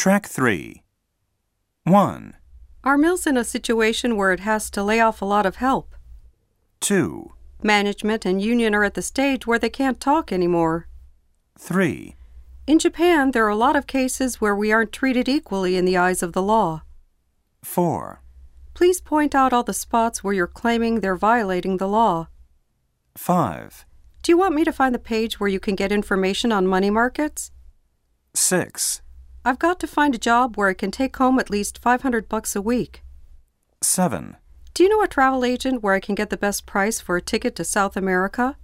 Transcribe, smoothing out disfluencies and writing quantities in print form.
Track 3. 1, Our mill's in a situation where it has to lay off a lot of help. 2, Management and union are at the stage where they can't talk anymore. 3, In Japan, there are a lot of cases where we aren't treated equally in the eyes of the law. 4, Please point out all the spots where you're claiming they're violating the law. 5, Do you want me to find the page where you can get information on money markets? 6, I've got to find a job where I can take home at least $500 a week. 7. Do you know a travel agent where I can get the best price for a ticket to South America?